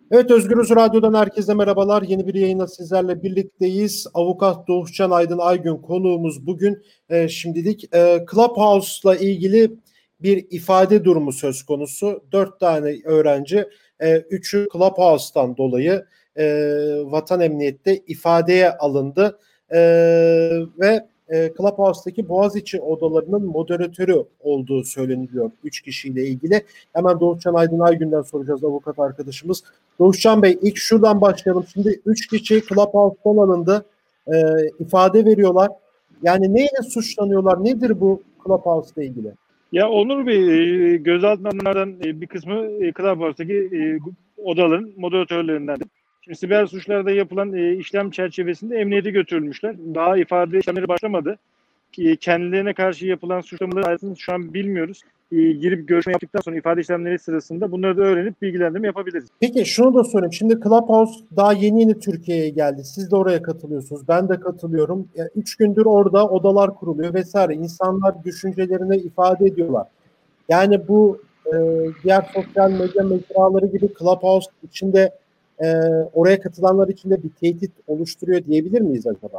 Evet, Özgürüz Radyo'dan herkese merhabalar. Yeni bir yayına sizlerle birlikteyiz. Avukat Doğuşcan Aydın Aygün konuğumuz bugün. Şimdilik Clubhouse'la ilgili bir ifade durumu söz konusu. 4 tane öğrenci, 3'ü Clubhouse'tan dolayı vatan emniyette ifadeye alındı. E, ve Clubhouse'daki Boğaziçi odalarının moderatörü olduğu söyleniliyor 3 kişiyle ilgili. Hemen Doğuşcan Aydın Aygün'den soracağız, avukat arkadaşımız. Doğuşcan Bey, ilk şuradan başlayalım. Şimdi 3 kişi Clubhouse'dan alındı. İfade veriyorlar. Yani neyle suçlanıyorlar? Nedir bu Clubhouse ile ilgili? Ya Onur Bey, gözaltınlardan bir kısmı Clubhouse'daki odaların moderatörlerinden. Şimdi siber suçlarda yapılan işlem çerçevesinde emniyete götürülmüşler. Daha ifade işlemleri başlamadı. Kendilerine karşı yapılan suçlamaları ayrıntısını şu an bilmiyoruz. Girip görüşme yaptıktan sonra ifade işlemleri sırasında bunları da öğrenip bilgilendirme yapabiliriz. Peki şunu da sorayım. Şimdi Clubhouse daha yeni Türkiye'ye geldi. Siz de oraya katılıyorsunuz. Ben de katılıyorum. 3 gündür orada odalar kuruluyor vesaire. İnsanlar düşüncelerini ifade ediyorlar. Yani bu diğer sosyal medya mecraları gibi Clubhouse içinde oraya katılanlar için de bir tehdit oluşturuyor diyebilir miyiz acaba?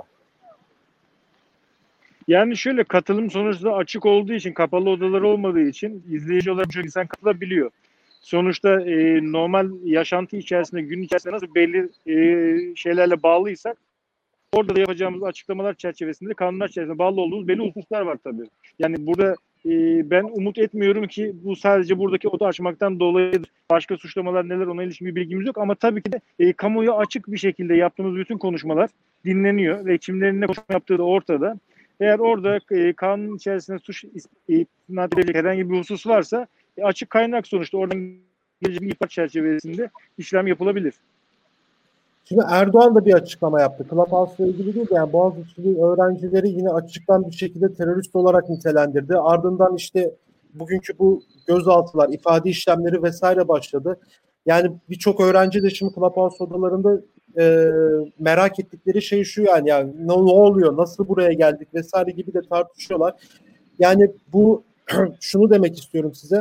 Yani şöyle, katılım sonuçta açık olduğu için, kapalı odalar olmadığı için izleyici olarak çok insan katılabiliyor. Sonuçta normal yaşantı içerisinde, gün içerisinde nasıl belli şeylerle bağlıysak, orada da yapacağımız açıklamalar çerçevesinde, kanunlar çerçevesinde bağlı olduğumuz belli hususlar var tabii. Yani burada ben umut etmiyorum ki bu sadece buradaki oda açmaktan dolayıdır. Başka suçlamalar neler, ona ilişkin bir bilgimiz yok ama tabii ki de kamuoyu açık bir şekilde yaptığımız bütün konuşmalar dinleniyor ve kimlerin ne konuşma yaptığı da ortada. Eğer orada kanun içerisinde suç isnat edilecek herhangi bir husus varsa açık kaynak, sonuçta oradan gelecek bir ihbar çerçevesinde işlem yapılabilir. Şimdi Erdoğan da bir açıklama yaptı. Clubhouse ile ilgili değil de yani Boğaziçi'li öğrencileri yine açıktan bir şekilde terörist olarak nitelendirdi. Ardından işte bugünkü bu gözaltılar, ifade işlemleri vesaire başladı. Yani birçok öğrenci de şimdi Clubhouse odalarında merak ettikleri şey şu, yani ne oluyor, nasıl buraya geldik vesaire gibi de tartışıyorlar. Yani bu şunu demek istiyorum size.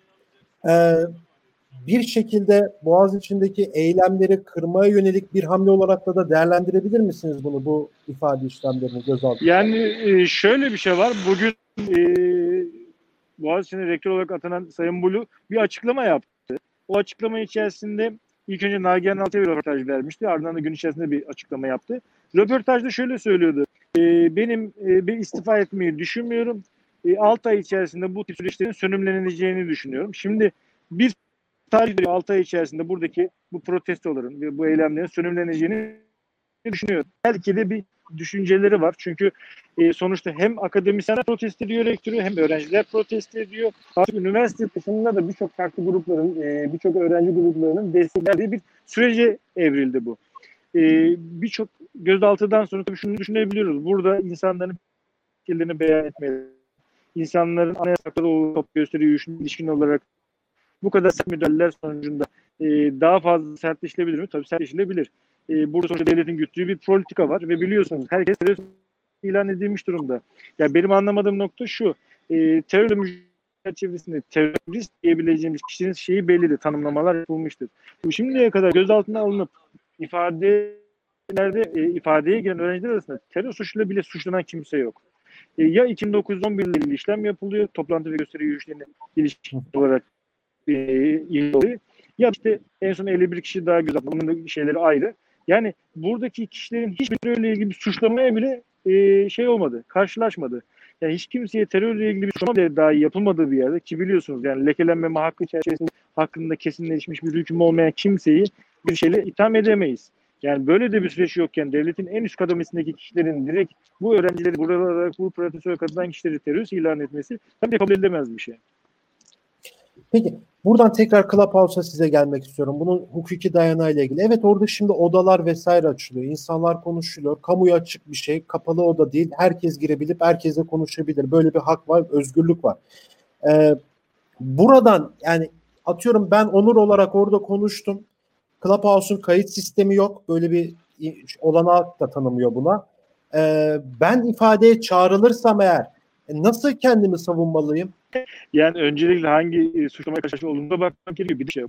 Bir şekilde Boğaziçi'ndeki eylemleri kırmaya yönelik bir hamle olarak da değerlendirebilir misiniz bunu, bu ifade işlemlerini gözaltı? Yani şöyle bir şey var. Bugün Boğaziçi'ne rektör olarak atanan Sayın Bulu bir açıklama yaptı. O açıklama içerisinde ilk önce Nagihan Altı'ya bir röportaj vermişti. Ardından da gün içerisinde bir açıklama yaptı. Röportajda şöyle söylüyordu. Benim bir istifa etmeyi düşünmüyorum. 6 ay içerisinde bu tip süreçlerin sönümleneceğini düşünüyorum. Şimdi biz tarih 6 ay içerisinde buradaki bu protestoların ve bu eylemlerin sönümleneceğini düşünüyorum. Belki de bir düşünceleri var. Çünkü sonuçta hem akademisyenler protesto ediyor rektörü, hem öğrenciler protesto ediyor. Artık üniversite dışında da birçok farklı grupların, birçok öğrenci gruplarının desteklediği bir sürece evrildi bu. Birçok gözaltıdan sonra tabii şunu düşünebiliyoruz. Burada insanların fikirlerini beyan etmeleri, insanların anayasaklara top gösteri yürüyüşüne ilişkin olarak bu kadar sert müdahaleler sonucunda daha fazla sertleşilebilir mi? Tabii sertleşilebilir. Burada sonuçta devletin güttüğü bir politika var ve biliyorsunuz herkes terörist ilan edilmiş durumda. Yani benim anlamadığım nokta şu. Terörle mücadele çerçevesinde terörist diyebileceğimiz kişinin şeyi bellidir. Tanımlamalar yapılmıştır. Şimdiye kadar gözaltına alınıp ifadeye giren öğrenciler arasında terör suçuyla bile suçlanan kimse yok. Ya 2009-11 ile işlem yapılıyor. Toplantı ve gösteri yürüyüşlerine ilişkin olarak ya işte en son 51 kişi daha gözaltına. Bunun da şeyleri ayrı. Yani buradaki kişilerin hiçbiriyle ilgili bir suçlamaya bile şey olmadı, karşılaşmadı. Yani hiç kimseye terörle ilgili bir suçlama bile dahi yapılmadığı bir yerde, ki biliyorsunuz yani lekelenmeme hakkı çerçevesinde hakkında kesinleşmiş bir hüküm olmayan kimseyi bir şeyle itham edemeyiz. Yani böyle de bir süreç yokken devletin en üst kademesindeki kişilerin direkt bu öğrencileri, buralara, bu protestoya katılan kişileri terörist ilan etmesi tabii kabul edilemez bir şey. Peki buradan tekrar Clubhouse'a size gelmek istiyorum. Bunun hukuki dayanağıyla ilgili. Evet, orada şimdi odalar vesaire açılıyor. İnsanlar konuşuluyor. Kamuya açık bir şey. Kapalı oda değil. Herkes girebilip herkesle konuşabilir. Böyle bir hak var, özgürlük var. Buradan yani atıyorum, ben Onur olarak orada konuştum. Clubhouse'un kayıt sistemi yok. Böyle bir olanak da tanımıyor buna. Ben ifadeye çağrılırsam eğer nasıl kendimi savunmalıyım? Yani öncelikle hangi suçlamaya karşı olduğuna bakmak gerekiyor. Bir de şey, bu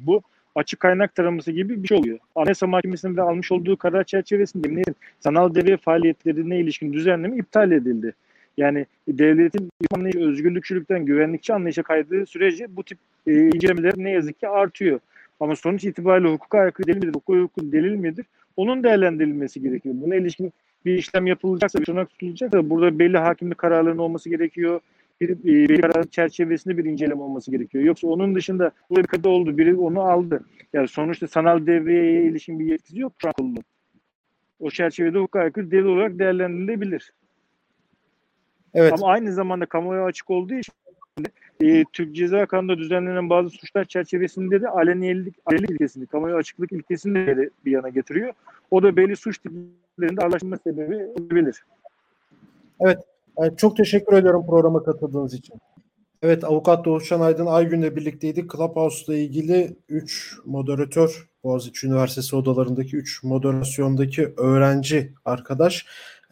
açık kaynak taraması gibi bir şey oluyor. Anayasa Mahkemesi'nin de almış olduğu karar çerçevesinde emniyetin sanal devre faaliyetlerine ilişkin düzenleme iptal edildi. Yani devletin anlayışı özgürlükçülükten güvenlikçi anlayışa kaydığı sürece bu tip incelemeler ne yazık ki artıyor. Ama sonuç itibariyle hukuka aykırı delil midir, hukuka uygun delil midir? Onun değerlendirilmesi gerekiyor. Buna ilişkin bir işlem yapılacaksa, bir tırnak tutulacaksa burada belli hakimlik kararlarının olması gerekiyor. Bir karar çerçevesinde bir inceleme olması gerekiyor. Yoksa onun dışında burada bir kadı oldu, biri onu aldı. Yani sonuçta sanal devreye ilişkin bir yetkisi yok şu an. O çerçevede hukuka aykırı delil olarak değerlendirilebilir. Evet. Ama aynı zamanda kamuoyu açık olduğu için Türk Ceza Kanunu'nda düzenlenen bazı suçlar çerçevesinde de aleniyelik ilkesini, kamuoyu açıklık ilkesini de bir yana getiriyor. O da belli suç tiplerinde ağırlaşma sebebi olabilir. Evet. Çok teşekkür ediyorum programa katıldığınız için. Evet, Avukat Doğuşcan Aydın Aygün'le birlikteydik. Clubhouse'la ilgili 3 moderatör, Boğaziçi Üniversitesi odalarındaki 3 moderasyondaki öğrenci arkadaş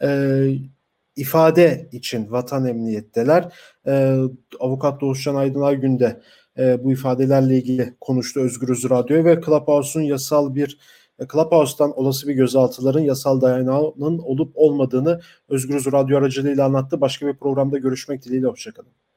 ifade için vatan emniyetteler. Avukat Doğuşcan Aydın Aygün de bu ifadelerle ilgili konuştu Özgürüz Radyo'ya ve Clubhouse'dan olası bir gözaltıların yasal dayanağının olup olmadığını Özgürüz Radyo aracılığıyla anlattı. Başka bir programda görüşmek dileğiyle, hoşçakalın.